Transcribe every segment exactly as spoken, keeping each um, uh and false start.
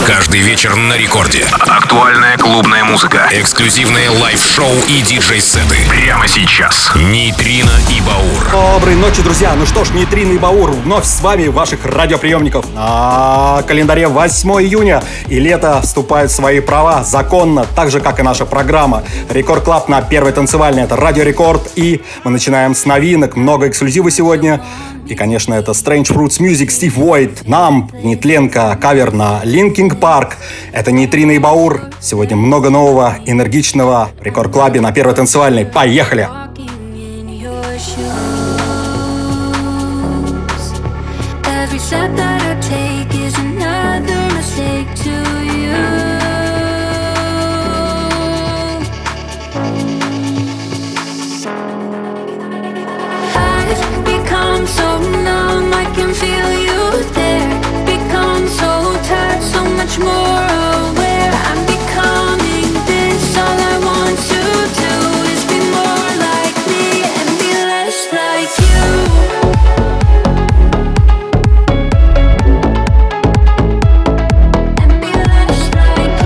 Каждый вечер на рекорде. Актуальная клубная музыка. Эксклюзивные лайв-шоу и диджей-сеты. Прямо сейчас. Нейтрино и Баур. Доброй ночи, друзья. Ну что ж, Нейтрино и Баур вновь с вами, ваших радиоприемников. На календаре восьмое июня. И лето вступает в свои права законно, так же, как и наша программа. Рекорд Клаб на первой танцевальной. Это Радио Рекорд. И мы начинаем с новинок. Много эксклюзива сегодня. И, конечно, это Strange Fruits Music, Стив Войт, Нам, Нетленко, кавер на Linkin Park. Это Нейтрино и Баур. Сегодня много нового, энергичного в Рекорд Клабе на первой танцевальной. Поехали! So numb, I can feel you there. Become so tired, so much more aware. I'm becoming this. All I want to do is be more like me and be less like you. And be less like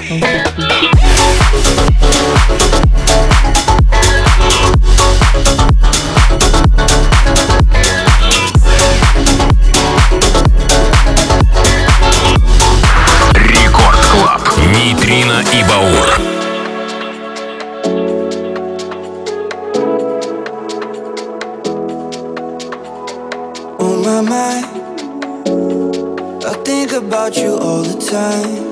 Нейтрино и Баур. On my mind, I think about you all the time.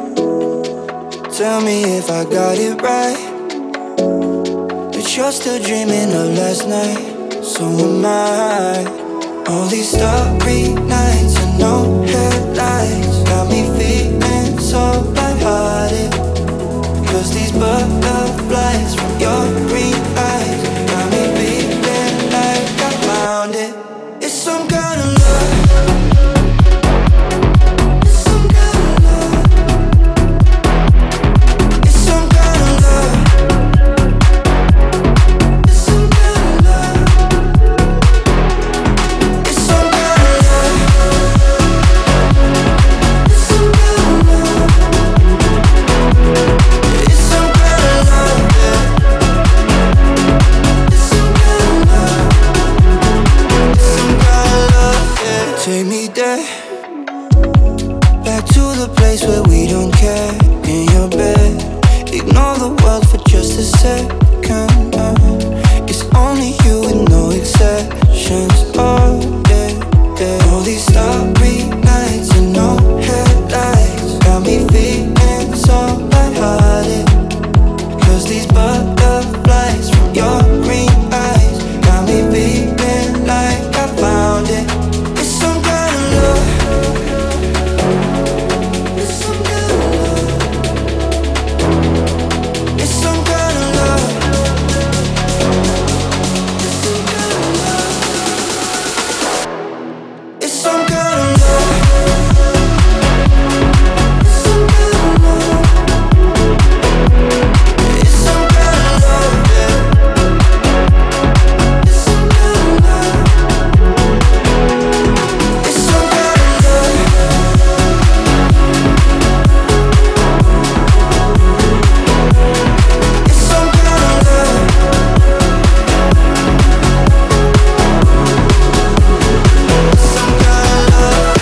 Tell me if I got it right, that you're still dreaming of last night. So am I. All these starry nights and no headlights got me feeling so lighthearted. Cause these butterflies from your green eyes got me feeling like I found it. It's some kind of love. It's some kind of love. It's some kind of love. It's some kind of love. It's some kind of love. It's some kind of love. It's some kind of love, yeah. It's some kind of love. It's some kind of love, yeah. Take me there, back to the place where we don't care. In your bed, ignore the world for just a second. uh. It's only you with no exceptions. Oh yeah, yeah. All these starry nights and no headlights got me feeling so lighthearted. Cause these butterflies from your green eyes got me feeling like I found it. It's some kind of love. It's some kind of love. It's some kind of love. It's some kind of love. It's some kind of love. It's some kind of love. It's some kind of love, yeah. It's some kind of love. It's some kind of love. It's some kind of love. Some kind of love.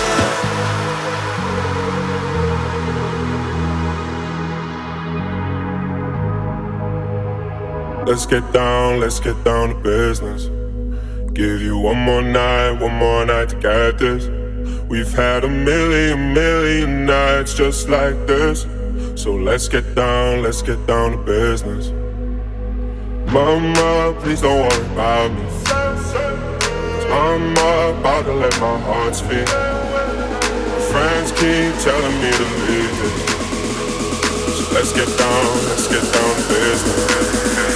Let's get down, let's get down to business. Give you one more night, one more night to get this. We've had a million, million nights just like this. So let's get down, let's get down to business. Mama, please don't worry about me, 'cause I'm about to let my heart speak. My friends keep telling me to leave this. So let's get down, let's get down to business.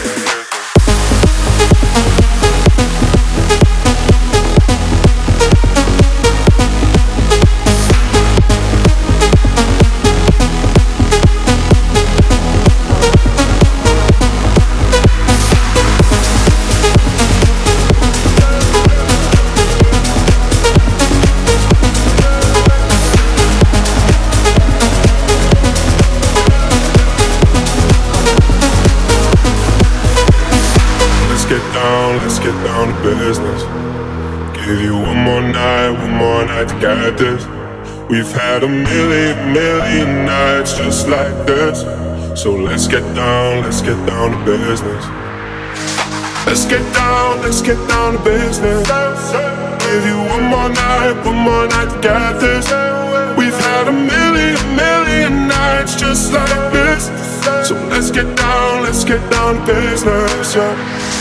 Let's get down to business. Give you one more night, one more night to get this. We've had a million, million nights just like this. So let's get down, let's get down to business. Let's get down, let's get down to business. Give you one more night, one more night to get this. We've had a million, million nights just like this. So let's get down, let's get down to business, yeah.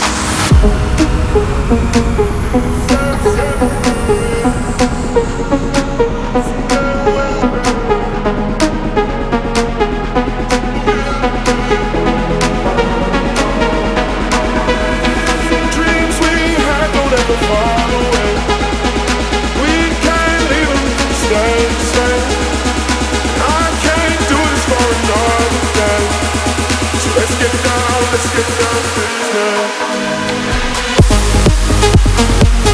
Dreams we had don't ever fall away. We can't leave them to stay the same. I can't do this for another day. So let's get down, let's get down to business.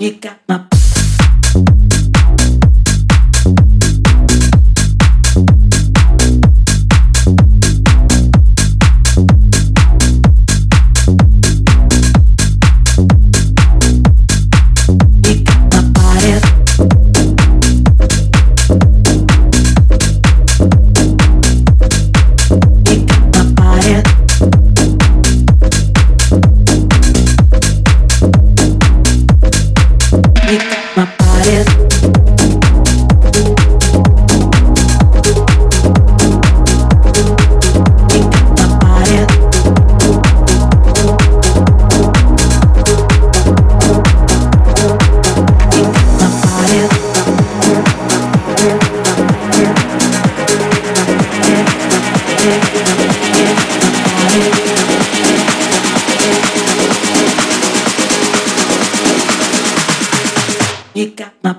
You got my You got my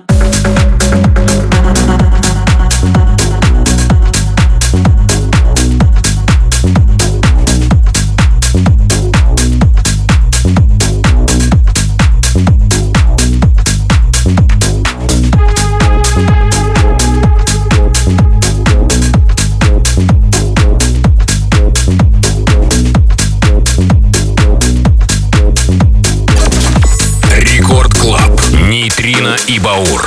Рекорд Клаб. Нейтрино и Баур.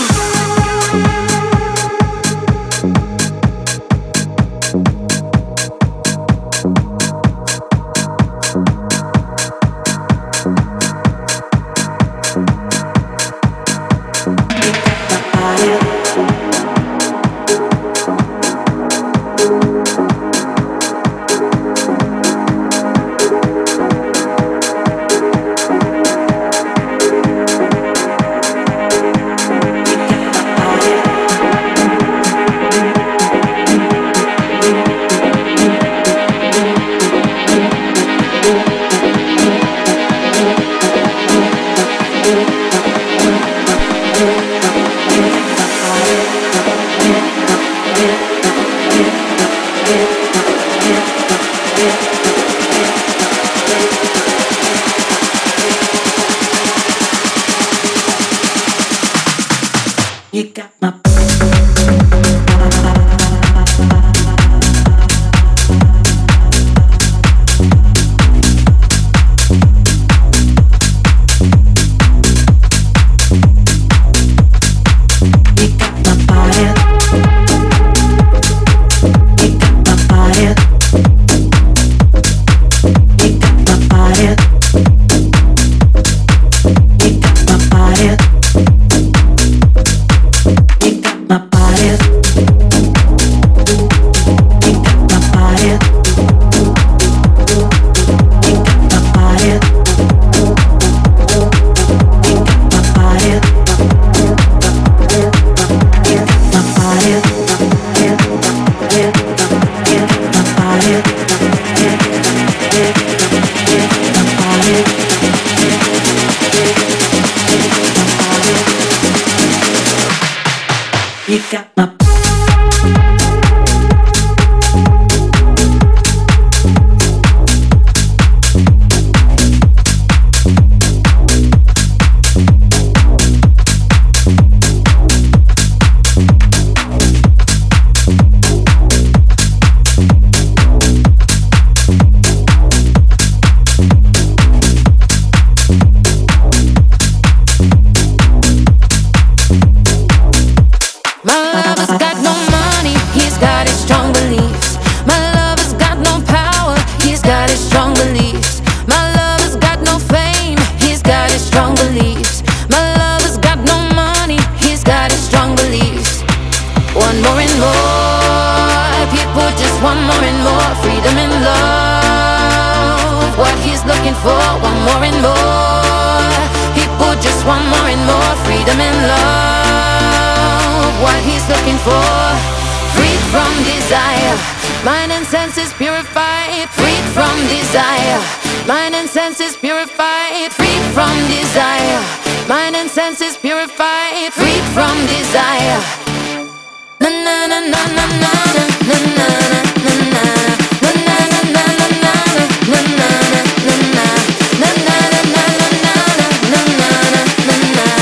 You got my You got my mind and senses purified, freed from desire. Mind and senses purified, freed from desire. Mind and senses purified, freed from desire. Na na na na na na na na na na na na na na na na na.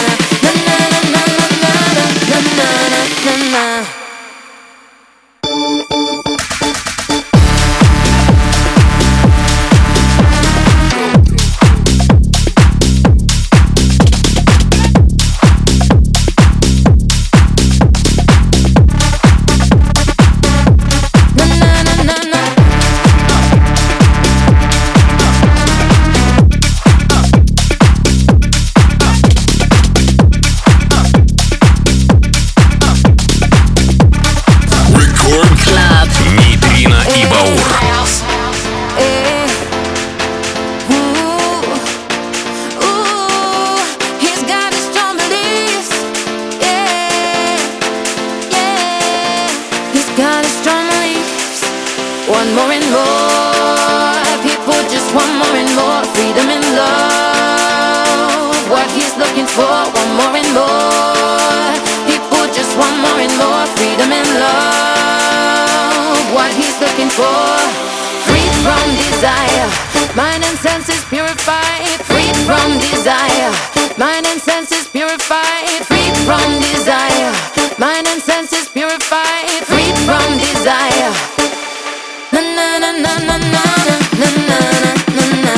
for. Freed from desire, mind and senses purified. Freed from desire, mind and senses purified. Freed from desire, mind and senses purified. Freed from desire. Na na na na na na na na na na.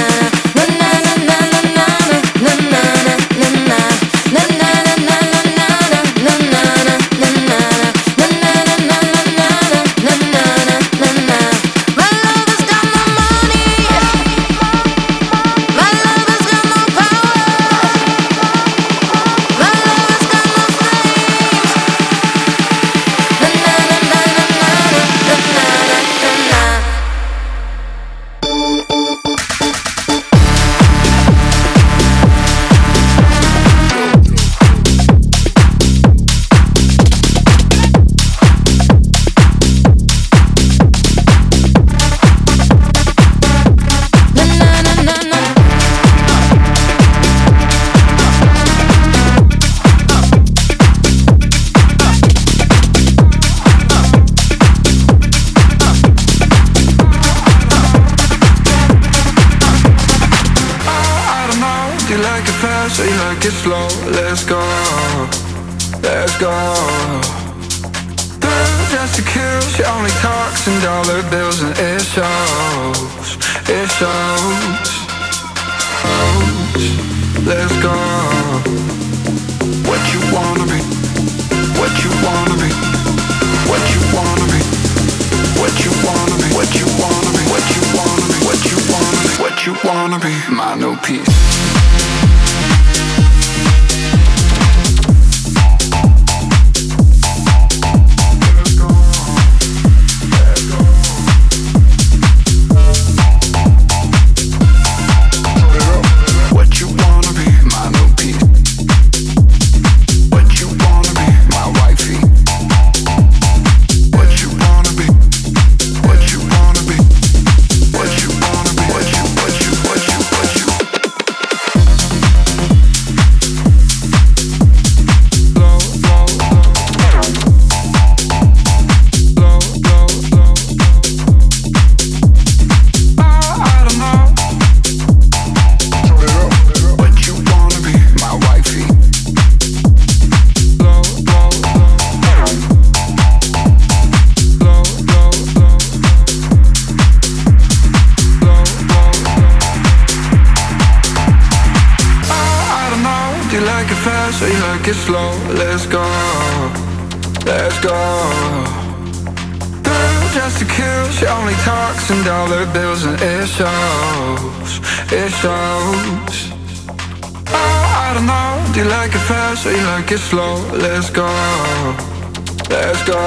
Get slow, let's go, let's go.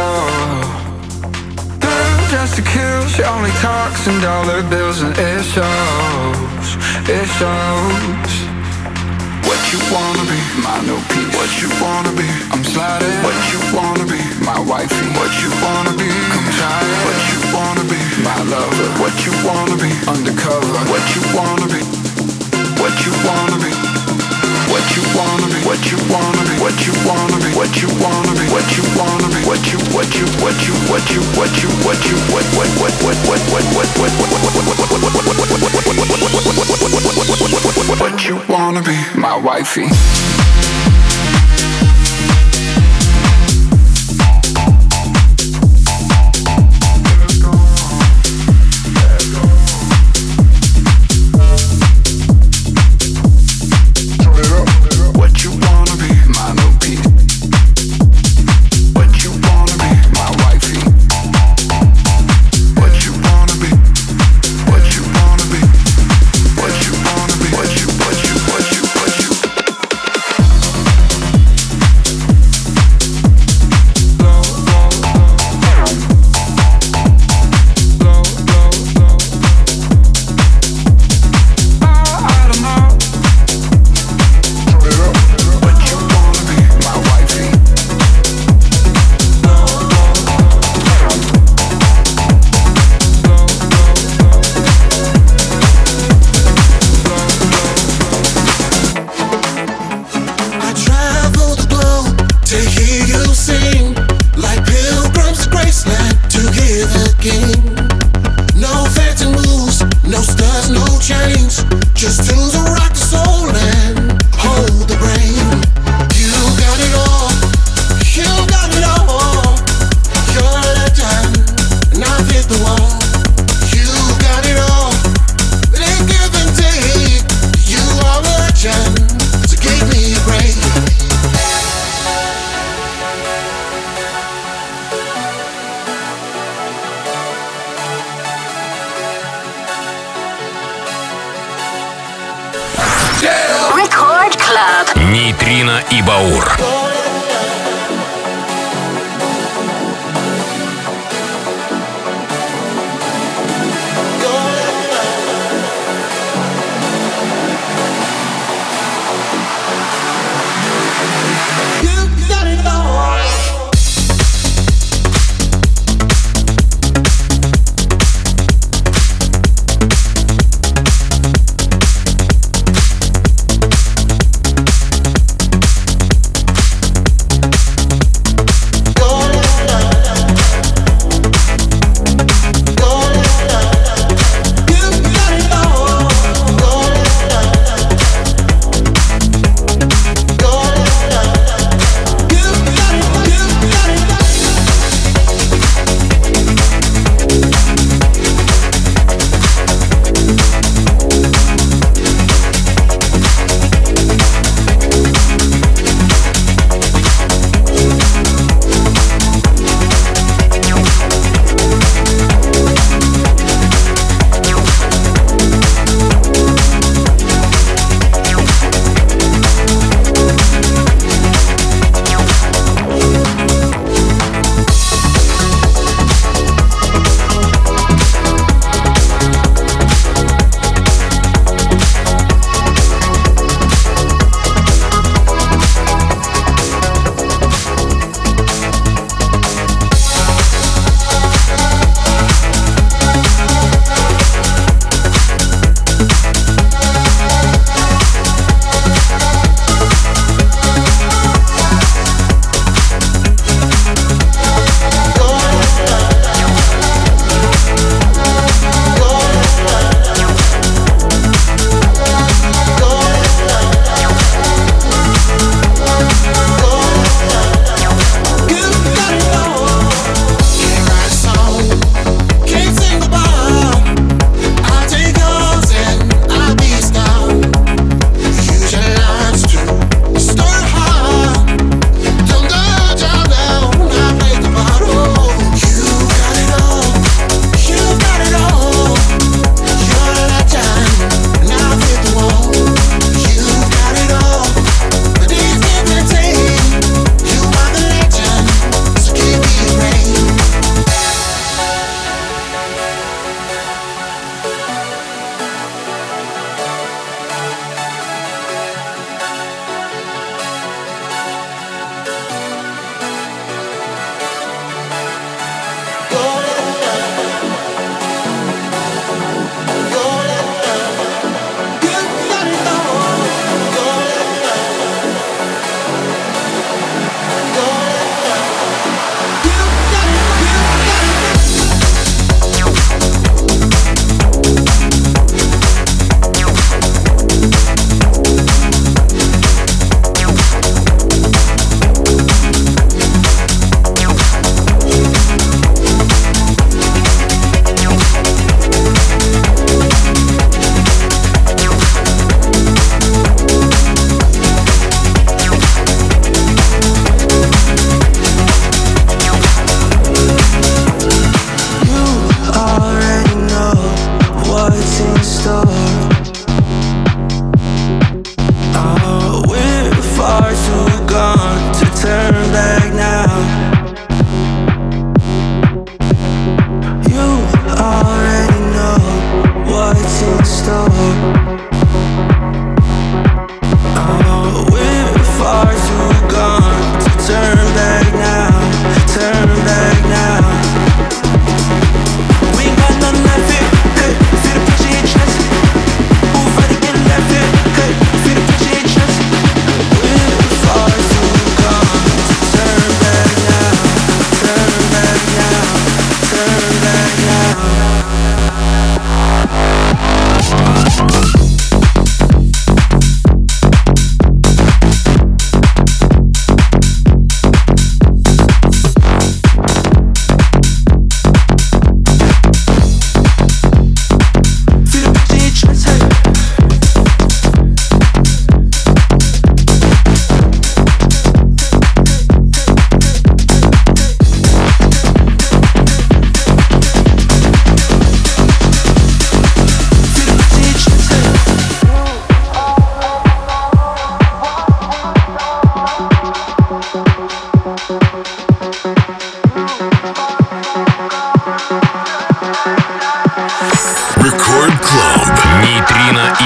Girl, just to kill, she only talks in dollar bills and it shows, it shows. What you wanna be, my new piece. What you wanna be, I'm sliding. What you wanna be, my wifey. What you wanna be, come try it. What you wanna be, my lover. What you wanna be, undercover. What you wanna be, what you wanna be. What you wanna be, what you wanna be, what you wanna be, what you wanna be, what you wanna be, what you, what you, what you, what you, what you, what you, what, what, what, what, what, what, what, what, what you wanna be, my wifey. Нейтрино и Баур.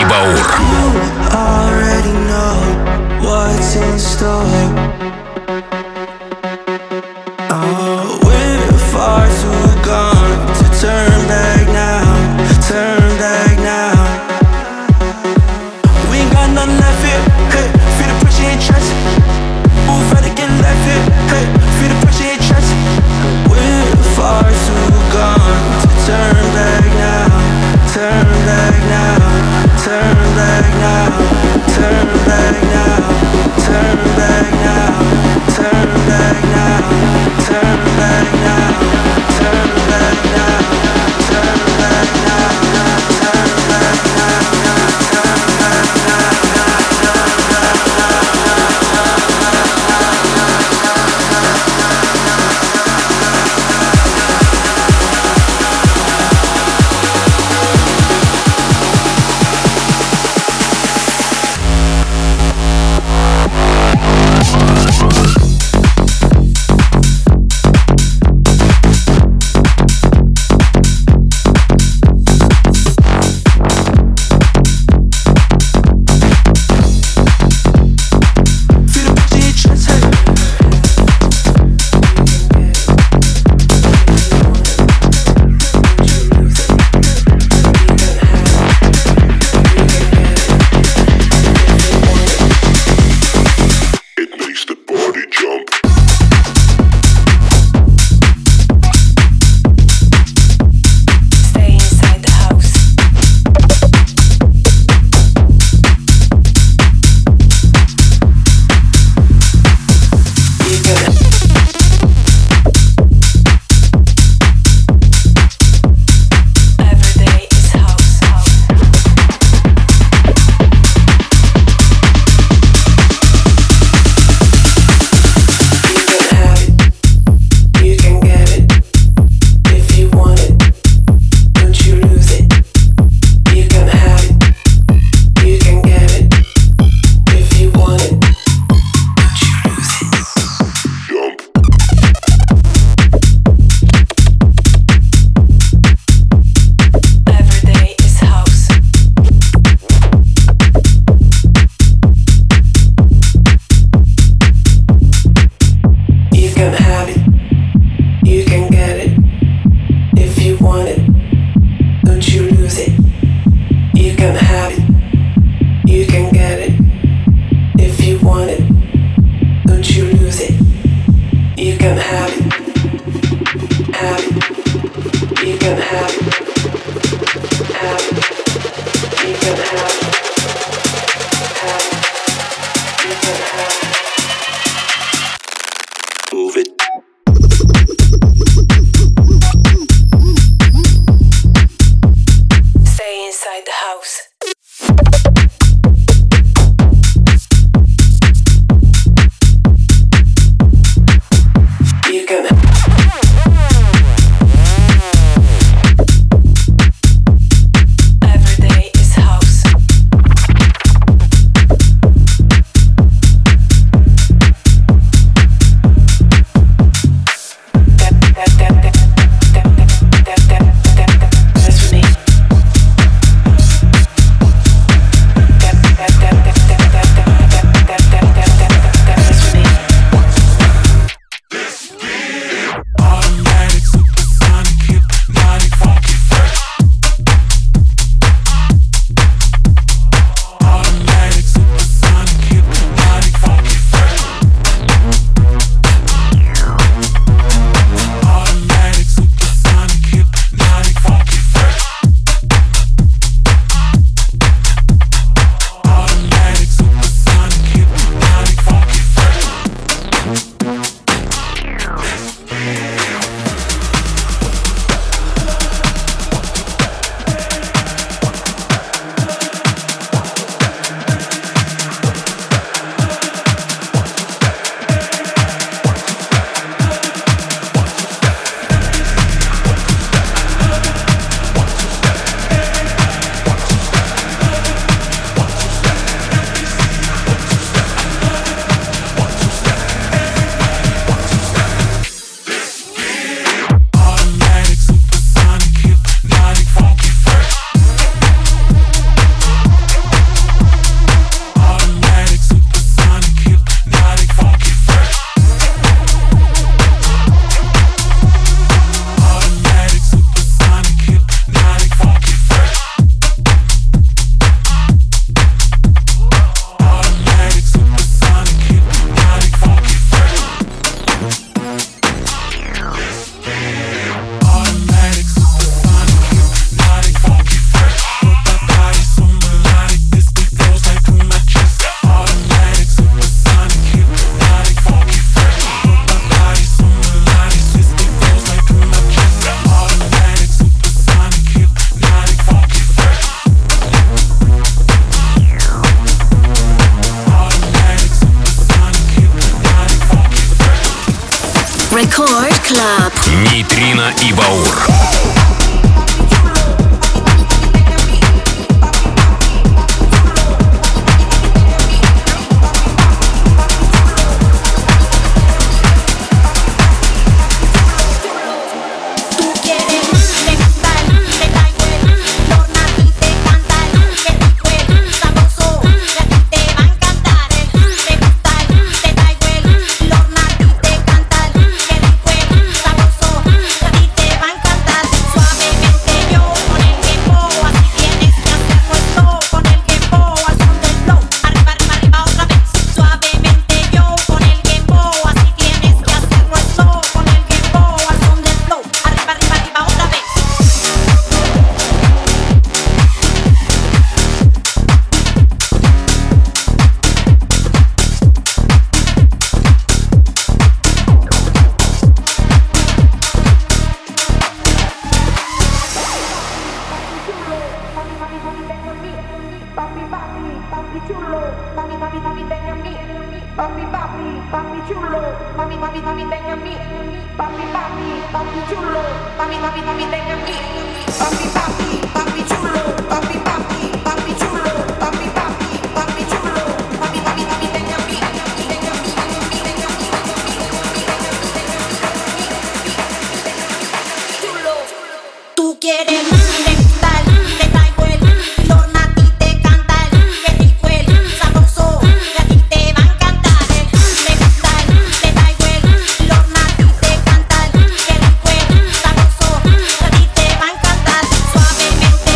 Дмитрий Баур. Already know what's in store. Oh, we're far too gone to turn back now, turn back now. We ain't got nothing left here, hey, feel the pressure in chest. Move right to get left here, hey, feel the pressure in chest. We're far too gone to turn back now, turn back now, turn back now, turn back now, turn back now, turn back now, turn back now, turn back now, turn back now, turn back now, turn back now. Club. Нейтрино и Баур. Suavemente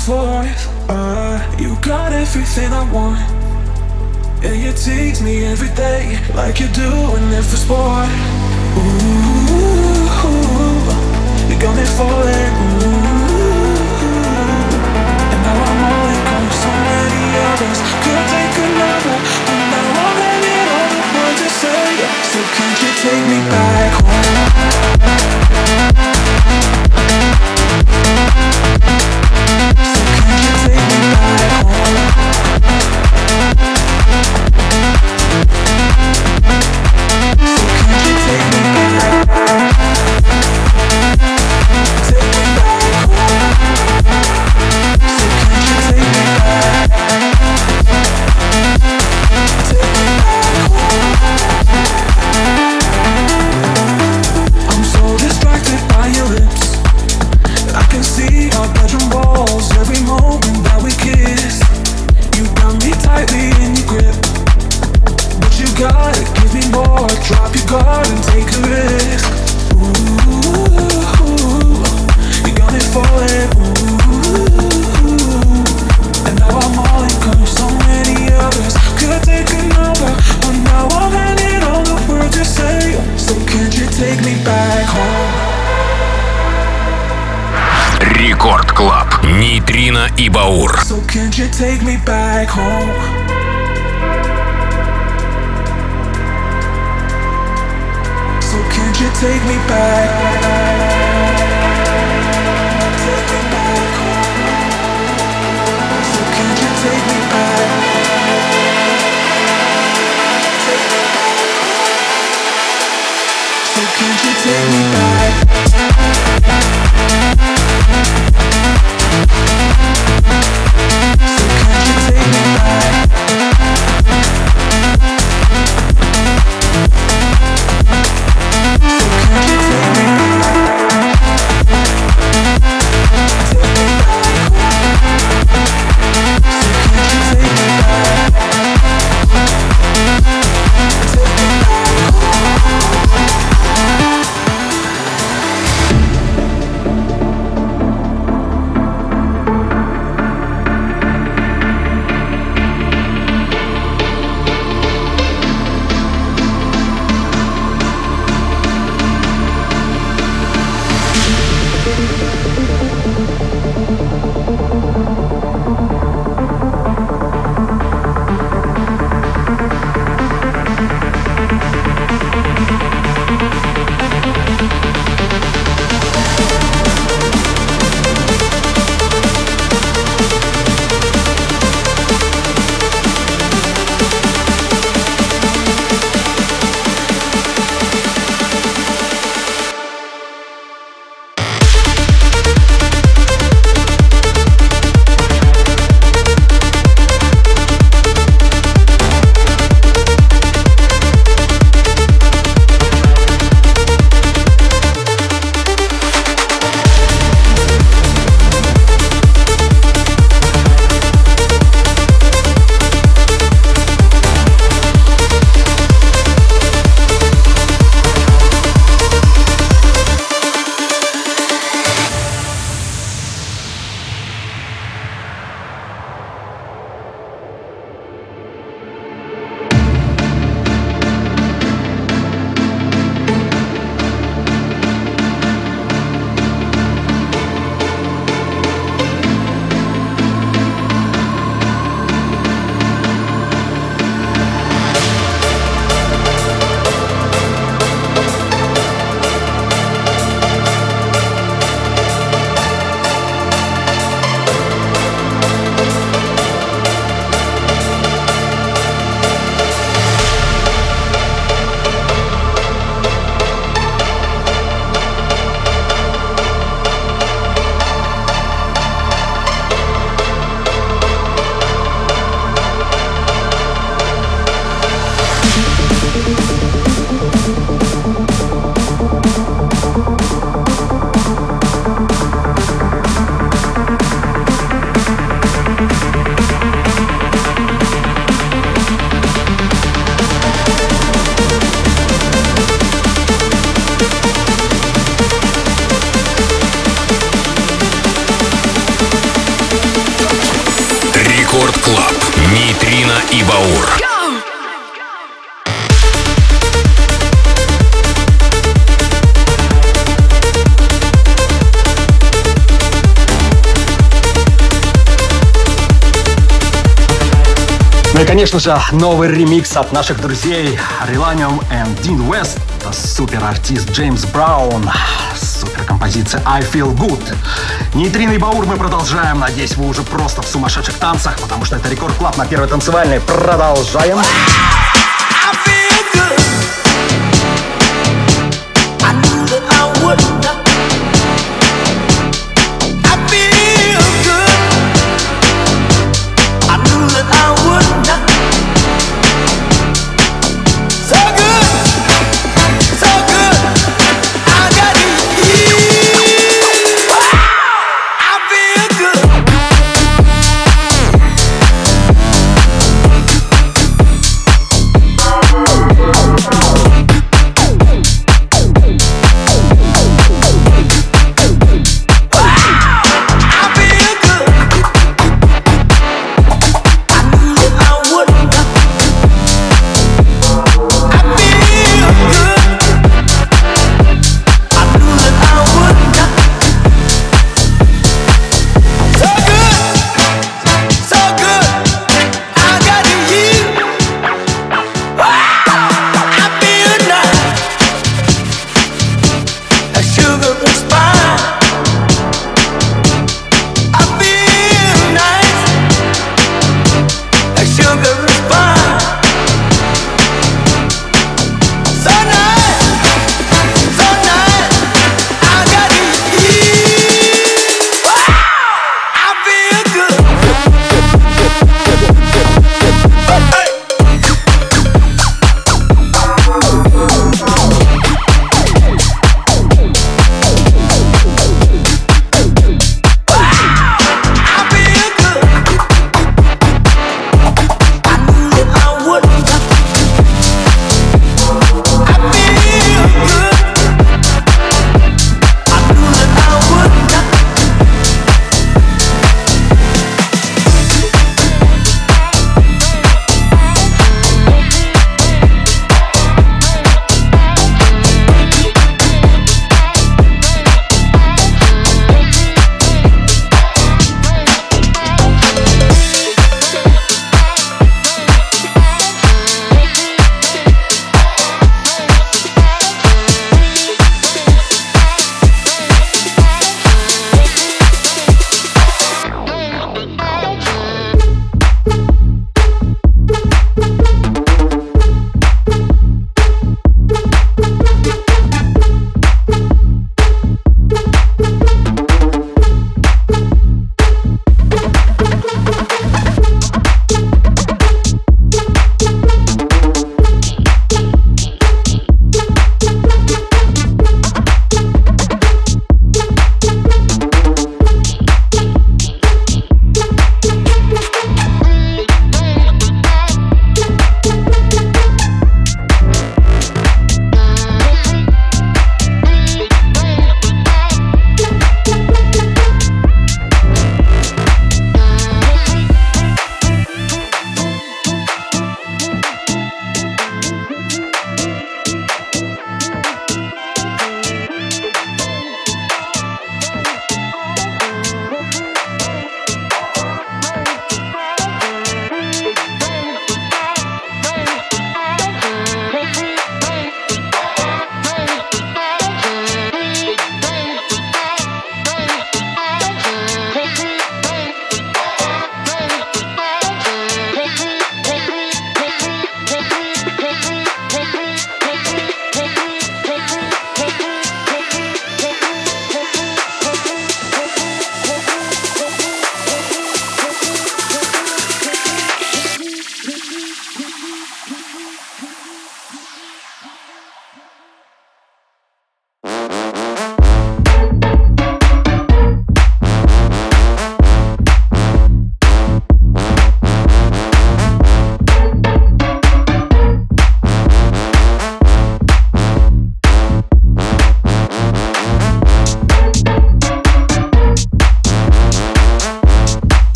forth. Uh, you got everything I want. Yeah, you tease me every day like you're doing it for sport. Ooh, you got me falling. Ooh, and now I'm all in on so many others. Could take another, and now I'm having all the words to say. So can't you take me back home? So can't you take me back home? So can't you take me back? Take me back home. So can't you take me back? Take me back home. I'm so distracted by your lips. I can see our bedroom walls every moment that we kiss. You got me tightly in your grip, but you gotta give me more. Drop your guard and take a risk. Ooh, you got me falling. Ooh, and now I'm all in 'cause so many others could take another, but now I'm handing all the words you say. So can't you take me back home? Рекорд Клаб. Нейтрино и Баур. So can't you take me back home? So can't you take me back? Take me back home. So can't you take me back? Take me back home. So can't you take me back? So can't you take me back? So can't you take me back? Take me back home. So can't you take me back? Take me back home. и Баур. Ну и, конечно же, новый ремикс от наших друзей Relanium и Dean West. Это супер-артист Джеймс Браун. Супер-композиция I Feel Good. Нейтрино и Баур мы продолжаем. Надеюсь, вы уже просто в сумасшедших танцах, потому что это Рекорд Клаб на Первой танцевальной. Продолжаем.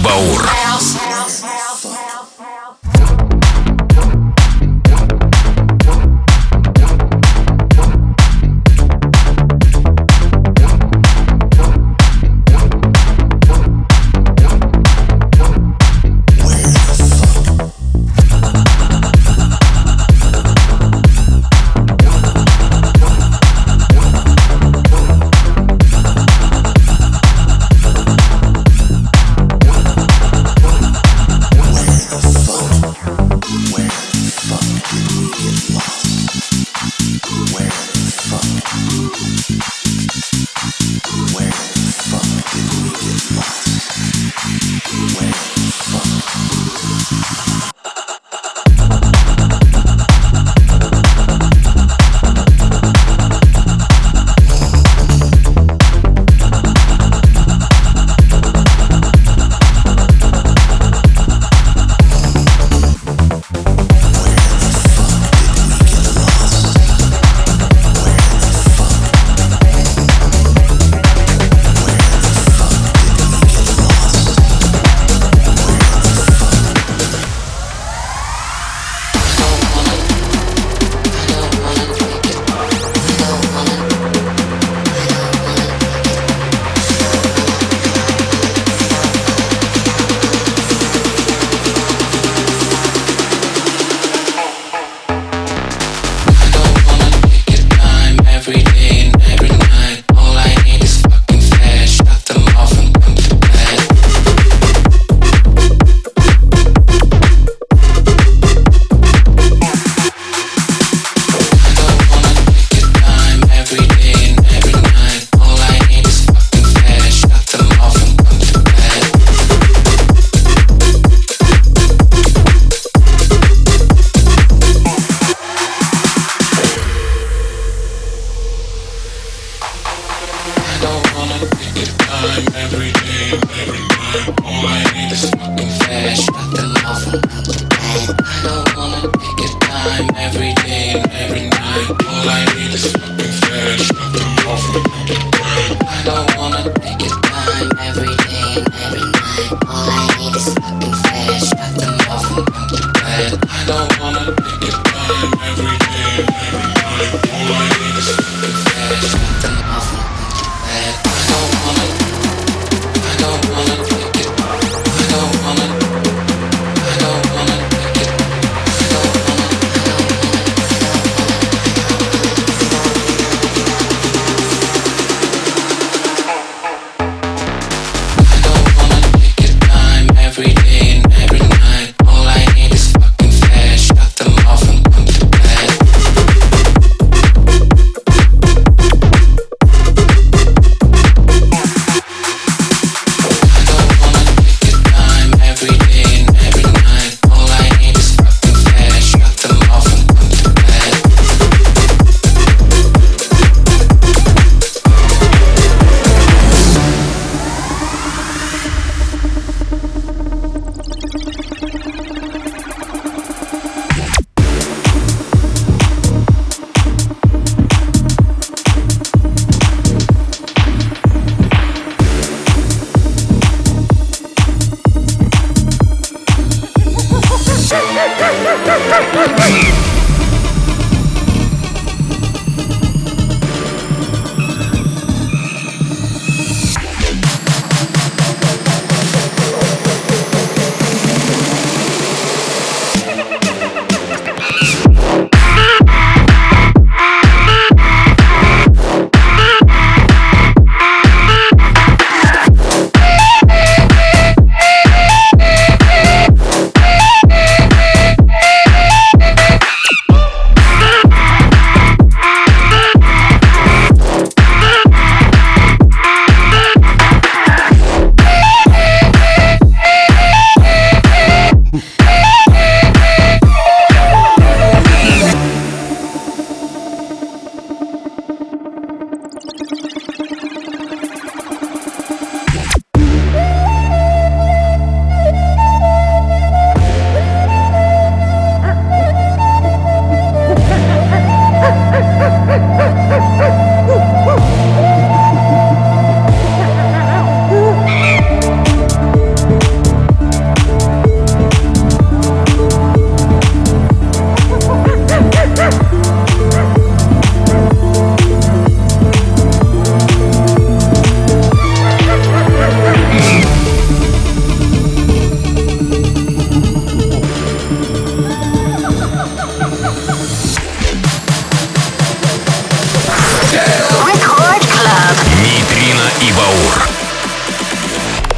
Баур.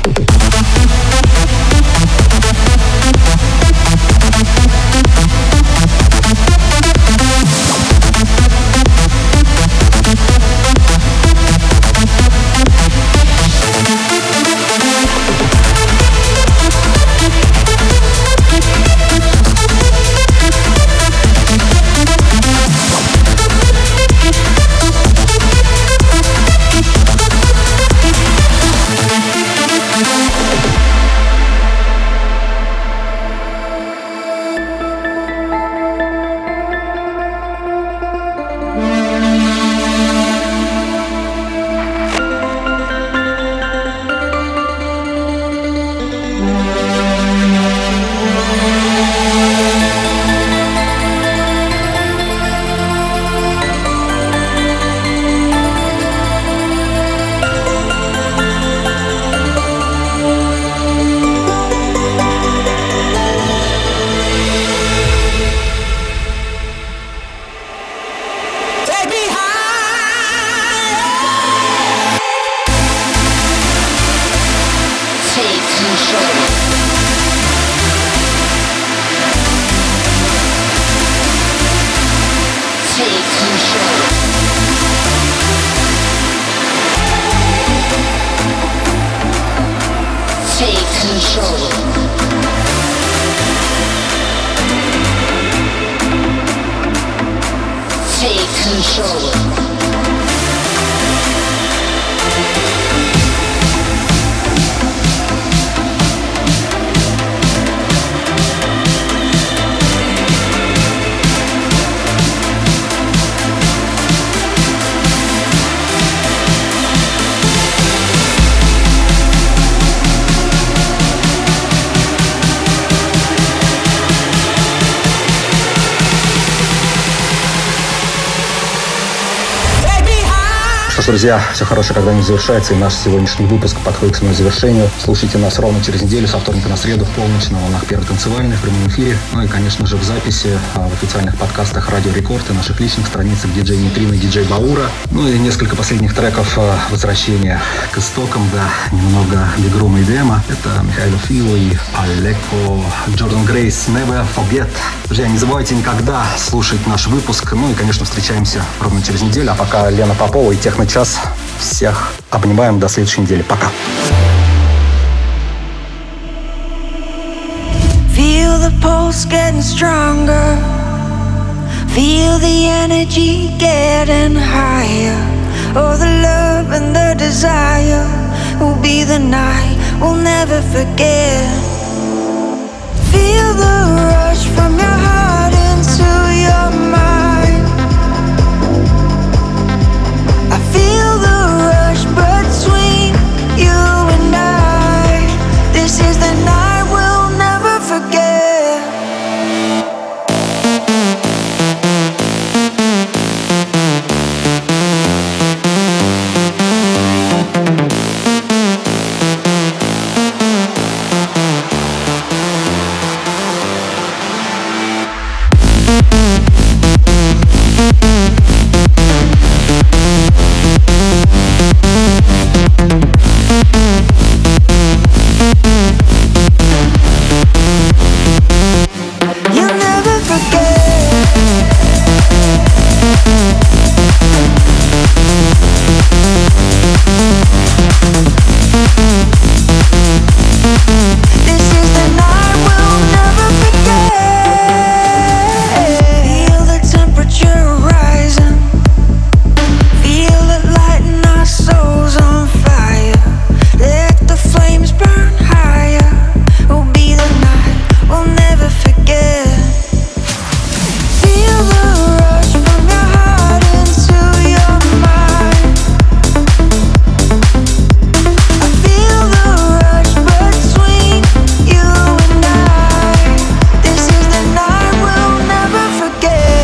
Друзья, все хорошее когда-нибудь завершается, и наш сегодняшний выпуск подходит к своему завершению. Слушайте нас ровно через неделю, со вторника на среду в полночь на волнах Первой танцевальной в прямом эфире. Ну и, конечно же, в записи в официальных подкастах Радио Рекорд и наших личных страницах диджей Нейтрино и диджей Баура. Ну и несколько последних треков возвращения к истокам, да, немного бигрума и дема. Это Михаил Фило и Алеко, Джордан Грейс, Never Forget. Друзья, не забывайте никогда слушать наш выпуск. Ну и, конечно, встречаемся ровно через неделю. А пока Лена Попова и Техночас. Всех обнимаем до следующей недели. Пока. Feel the pulse getting stronger. Feel the energy getting higher. Oh, the love and the desire will be the night we'll never forget. Feel the rush from your heart into your mind. I feel the rush between you and I. This is the night we'll never forget.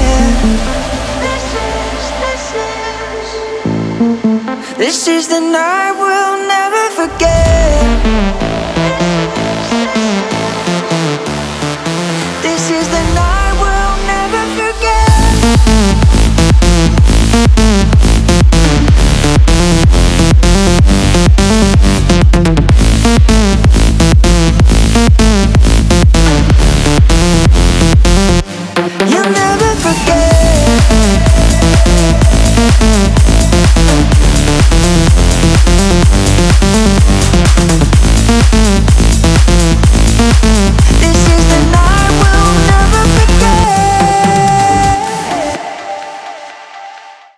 This is the night.